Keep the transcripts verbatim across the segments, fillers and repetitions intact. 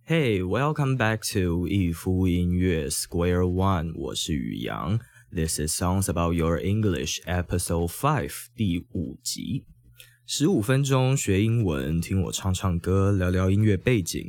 Hey, welcome back to 一夫音乐 Square One， 我是宇阳。This is Songs About Your English Episode five 第五集。十五分钟学英文，听我唱唱歌，聊聊音乐背景。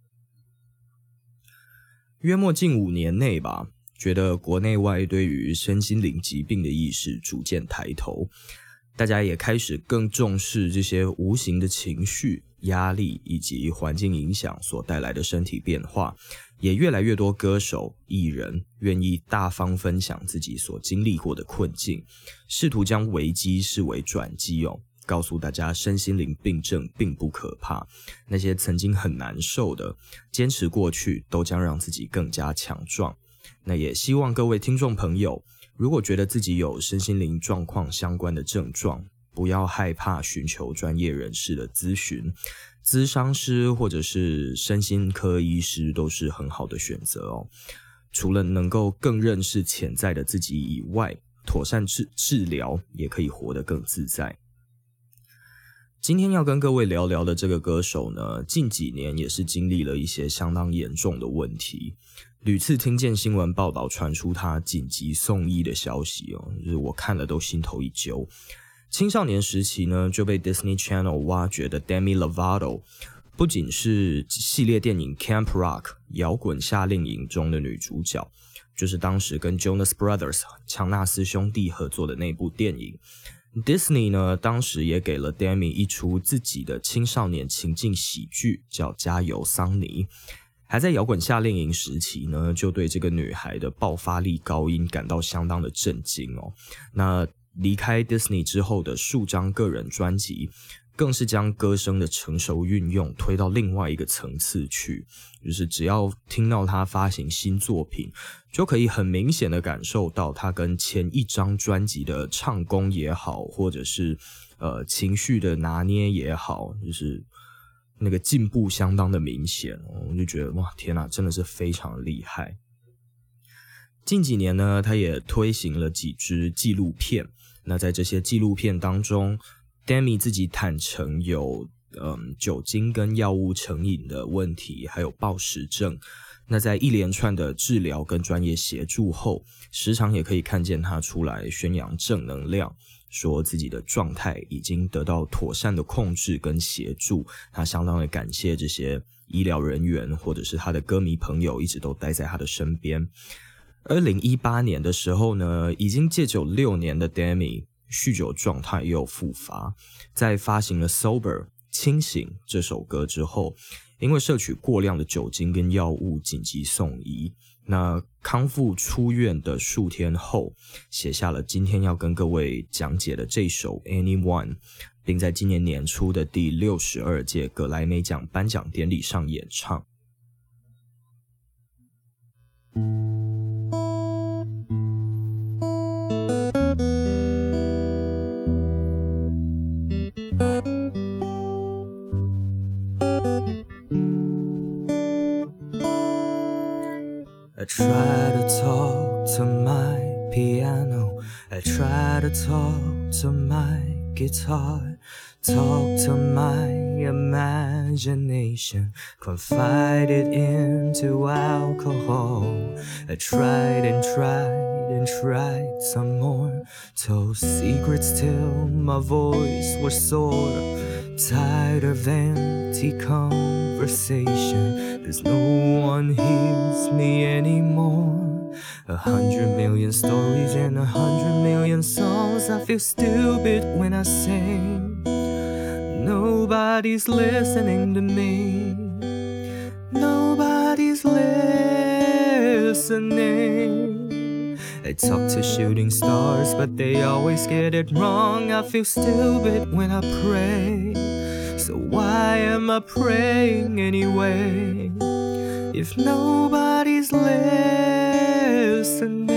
约莫近五年内吧，觉得国内外对于身心灵疾病的意识逐渐抬头，大家也开始更重视这些无形的情绪、压力以及环境影响所带来的身体变化，也越来越多歌手、艺人愿意大方分享自己所经历过的困境，试图将危机视为转机哦，告诉大家身心灵病症并不可怕，那些曾经很难受的，坚持过去都将让自己更加强壮。那也希望各位听众朋友，如果觉得自己有身心灵状况相关的症状，不要害怕寻求专业人士的咨询，咨商师或者是身心科医师都是很好的选择哦。除了能够更认识潜在的自己以外，妥善治治疗也可以活得更自在。今天要跟各位聊聊的这个歌手呢，近几年也是经历了一些相当严重的问题，屡次听见新闻报道传出他紧急送医的消息哦，就是我看了都心头一揪。青少年时期呢，就被 Disney Channel 挖掘的 Demi Lovato， 不仅是系列电影 Camp Rock 摇滚夏令营中的女主角，就是当时跟 Jonas Brothers 强纳斯兄弟合作的那部电影。Disney 呢，当时也给了 Demi 一出自己的青少年情境喜剧，叫《加油桑尼》。还在摇滚夏令营时期呢，就对这个女孩的爆发力高音感到相当的震惊哦。那离开 Disney 之后的数张个人专辑，更是将歌声的成熟运用推到另外一个层次去，就是只要听到他发行新作品，就可以很明显的感受到他跟前一张专辑的唱功也好，或者是呃情绪的拿捏也好，就是那个进步相当的明显，我就觉得哇天哪，真的是非常厉害。近几年呢，他也推行了几支纪录片，那在这些纪录片当中， Demi 自己坦诚有嗯酒精跟药物成瘾的问题，还有暴食症。那在一连串的治疗跟专业协助后，时常也可以看见他出来宣扬正能量，说自己的状态已经得到妥善的控制跟协助，他相当的感谢这些医疗人员或者是他的歌迷朋友一直都待在他的身边。二零一八年的时候呢，已经戒酒六年的 Demi 酗酒状态又复发，在发行了 Sober 清醒这首歌之后，因为摄取过量的酒精跟药物紧急送医，那康复出院的数天后，写下了今天要跟各位讲解的这首 Anyone， 并在今年年初的第六十二届格莱美奖颁奖典礼上演唱。I try to talk to my piano, I try to talk to my guitar, talk to my imagination, confide it into alcohol. I tried and tried and tried some more, told secrets till my voice was sore, tired of empty conversation, cause no one hears me anymore. A hundred million stories and a hundred million songs, I feel stupid when I sing. Nobody's listening to me, nobody's listening. I talk to shooting stars, but they always get it wrong. I feel stupid when I pray, so why am I praying anyway, if nobody's listening?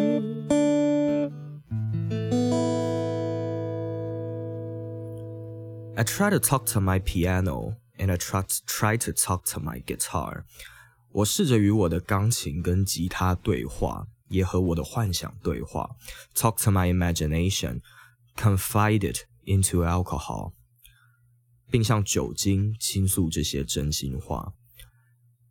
I try to talk to my piano, and I try to, try to talk to my guitar. 我试着与我的钢琴跟吉他对话，也和我的幻想对话。Talk to my imagination, confide it into alcohol. 并向酒精倾诉这些真心话。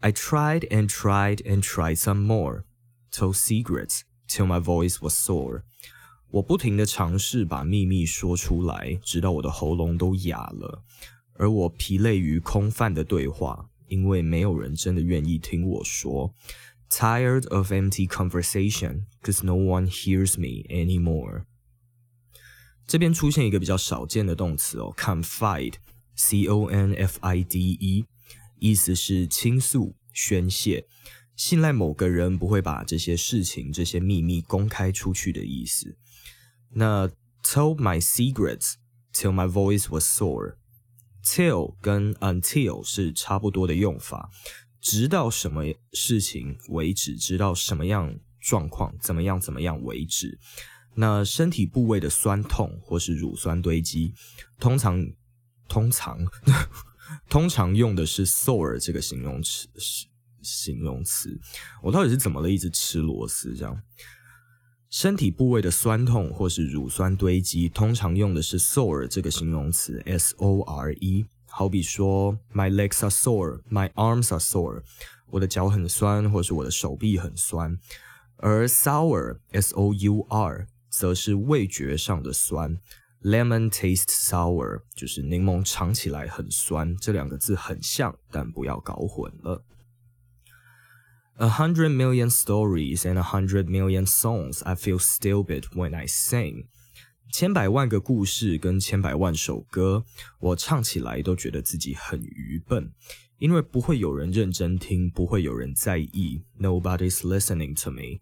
I tried and tried and tried some more, told secrets till my voice was sore. 我不停地尝试把秘密说出来，直到我的喉咙都哑了。而我疲累于空泛的对话，因为没有人真的愿意听我说。Tired of empty conversation, 'cause no one hears me anymore. 这边出现一个比较少见的动词哦 confide, C O N F I D E, 意思是倾诉、宣泄，信赖某个人不会把这些事情、这些秘密公开出去的意思。那 told my secrets till my voice was sore. Till 跟 until 是差不多的用法，直到什么事情为止，直到什么样状况，怎么样怎么样为止。那身体部位的酸痛或是乳酸堆积，通常通常通常用的是 sore 这个形容词。形容词，我到底是怎么了？一直吃螺丝这样。身体部位的酸痛或是乳酸堆积，通常用的是 sore 这个形容词 S O R E。好比说 My legs are sore, my arms are sore. 我的脚很酸，或是我的手臂很酸。而 sour S O U R 则是味觉上的酸。Lemon tastes sour 就是柠檬尝起来很酸，这两个字很像，但不要搞混了。A hundred million stories and a hundred million songs, I feel stupid when I sing. 千百万个故事跟千百万首歌，我唱起来都觉得自己很愚笨，因为不会有人认真听，不会有人在意。Nobody's listening to me.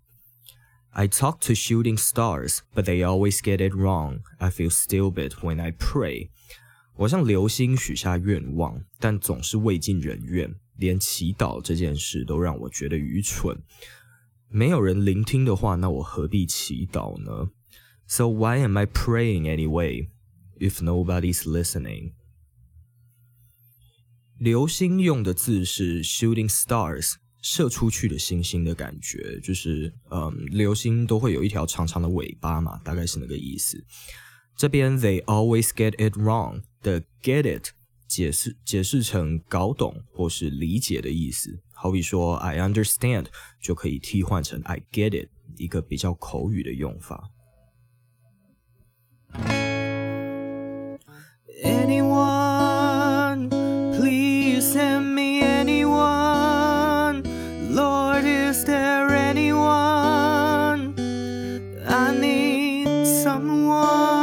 I talk to shooting stars, but they always get it wrong. I feel stupid when I pray. 我向流星许下愿望，但总是未尽人愿。连祈祷这件事都让我觉得愚蠢。没有人聆听的话，那我何必祈祷呢？ So why am I praying anyway, if nobody's listening? 流星用的字是 shooting stars, 射出去的星星的感觉，就是嗯，流星都会有一条长长的尾巴嘛，大概是那个意思。这边 they always get it wrong 的 get it解释解释成搞懂或是理解的意思，好比说 I understand 就可以替换成 I get it， 一个比较口语的用法。Anyone, please send me anyone. Lord, is there anyone? I need someone.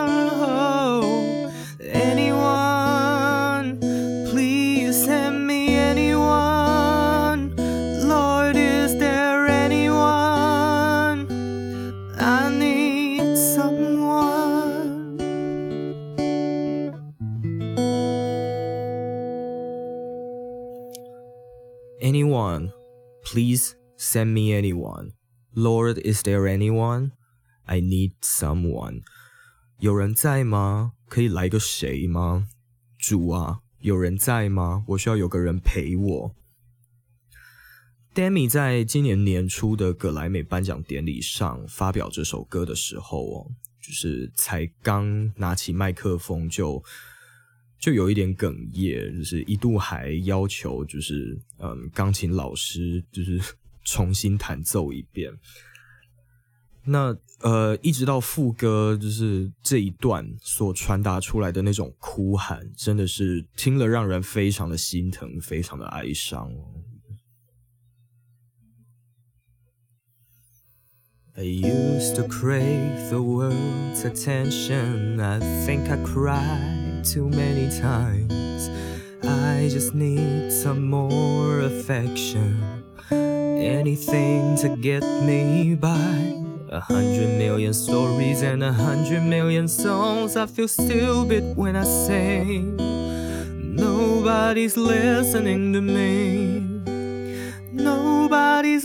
Anyone, please send me anyone. Lord, is there anyone? I need someone. 有人在吗？可以来个谁吗？主啊，有人在吗？我需要有个人陪我。Demi 在今年年初的葛莱美颁奖典礼上发表这首歌的时候哦，就是才刚拿起麦克风就就有一点哽咽，就是一度还要求就是嗯钢琴老师就是重新弹奏一遍。那呃一直到副歌就是这一段所传达出来的那种哭喊，真的是听了让人非常的心疼，非常的哀伤哦。I used to crave the world's attention. I think I cried too many times. I just need some more affection. Anything to get me by. A hundred million stories and a hundred million songs. I feel stupid when I sing. Nobody's listening to me. Nobody's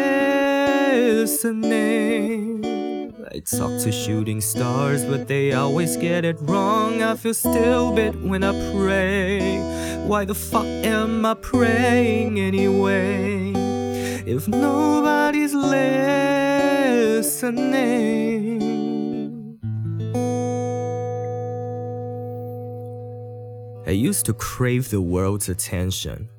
listening. I talk to shooting stars, but they always get it wrong. I feel stupid when I pray. Why the fuck am I praying anyway? If nobody's listening. I used to crave the world's attention.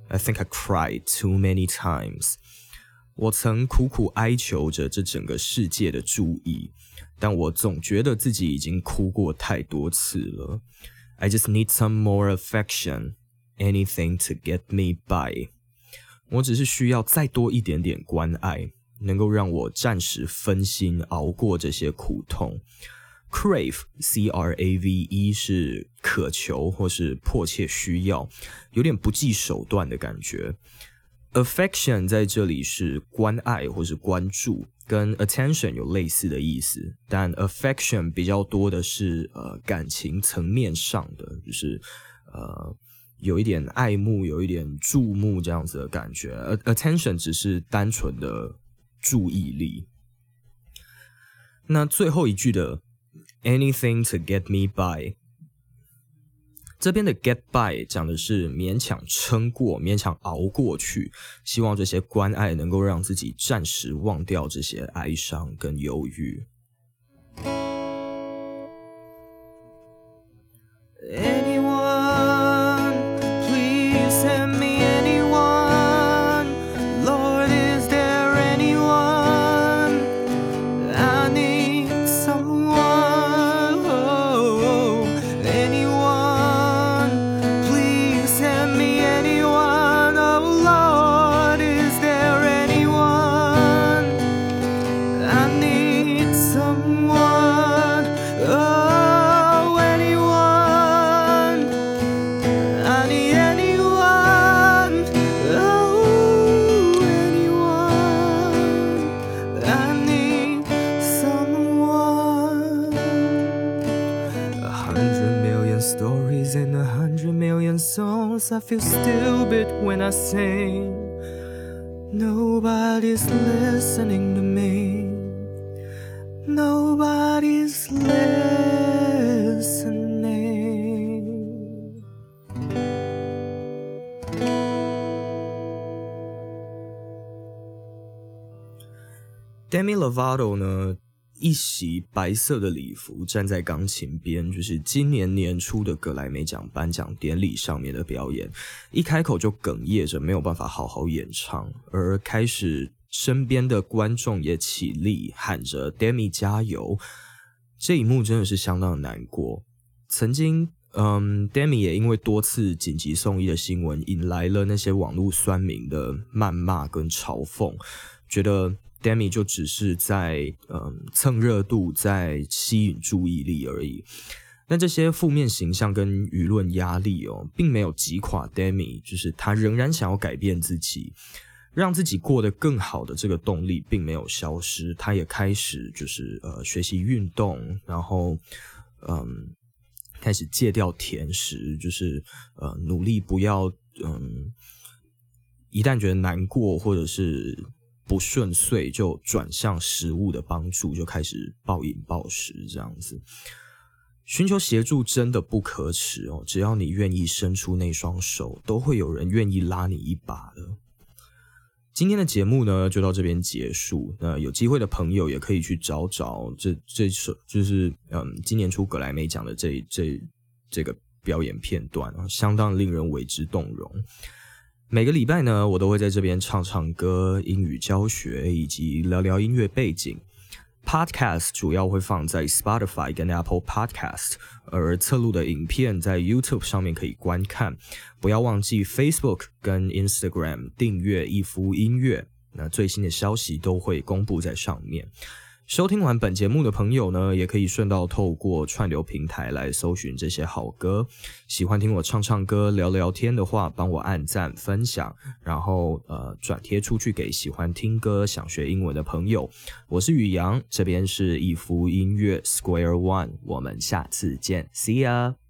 I think I cried too many times. 我曾苦苦哀求着这整个世界的注意，但我总觉得自己已经哭过太多次了。I just need some more affection, anything to get me by. 我只是需要再多一点点关爱，能够让我暂时分心，熬过这些苦痛。Crave, C R A V E 是渴求或是迫切需要，有点不计手段的感觉。Affection 在这里是关爱或是关注，跟 attention 有类似的意思，但 affection 比较多的是呃感情层面上的，就是呃有一点爱慕，有一点注目这样子的感觉。attention 只是单纯的注意力。那最后一句的 anything to get me by， 这边的 get by 讲的是勉强撑过，勉强熬过去，希望这些关爱能够让自己暂时忘掉这些哀伤跟忧郁。Stories and a hundred million songs. I feel stupid when I sing. Nobody's listening to me. Nobody's listening. Demi Lovato 呢？一袭白色的礼服站在钢琴边，就是今年年初的格莱美奖颁奖典礼上面的表演，一开口就哽咽着没有办法好好演唱，而开始身边的观众也起立喊着 Demi 加油，这一幕真的是相当的难过。曾经嗯 Demi 也因为多次紧急送医的新闻引来了那些网络酸民的谩骂跟嘲讽，觉得Demi 就只是在嗯蹭热度，在吸引注意力而已。但这些负面形象跟舆论压力哦，并没有击垮 Demi， 就是他仍然想要改变自己，让自己过得更好的这个动力并没有消失。他也开始就是呃学习运动，然后嗯开始戒掉甜食，就是呃努力不要嗯一旦觉得难过或者是不顺遂就转向食物的帮助，就开始暴饮暴食这样子。寻求协助真的不可耻哦，只要你愿意伸出那双手，都会有人愿意拉你一把的。今天的节目呢，就到这边结束。那有机会的朋友也可以去找找这这首，就是嗯，今年初格莱美奖的这这这个表演片段啊，相当令人为之动容。每个礼拜呢，我都会在这边唱唱歌、英语教学以及聊聊音乐背景。Podcast 主要会放在 Spotify 跟 Apple Podcast， 而侧录的影片在 YouTube 上面可以观看。不要忘记 Facebook 跟 Instagram 订阅一夫音乐，那最新的消息都会公布在上面。收听完本节目的朋友呢，也可以顺道透过串流平台来搜寻这些好歌。喜欢听我唱唱歌、聊聊天的话，帮我按赞、分享，然后呃转贴出去给喜欢听歌、想学英文的朋友。我是宇阳，这边是一夫音乐 Square One， 我们下次见 ，See ya。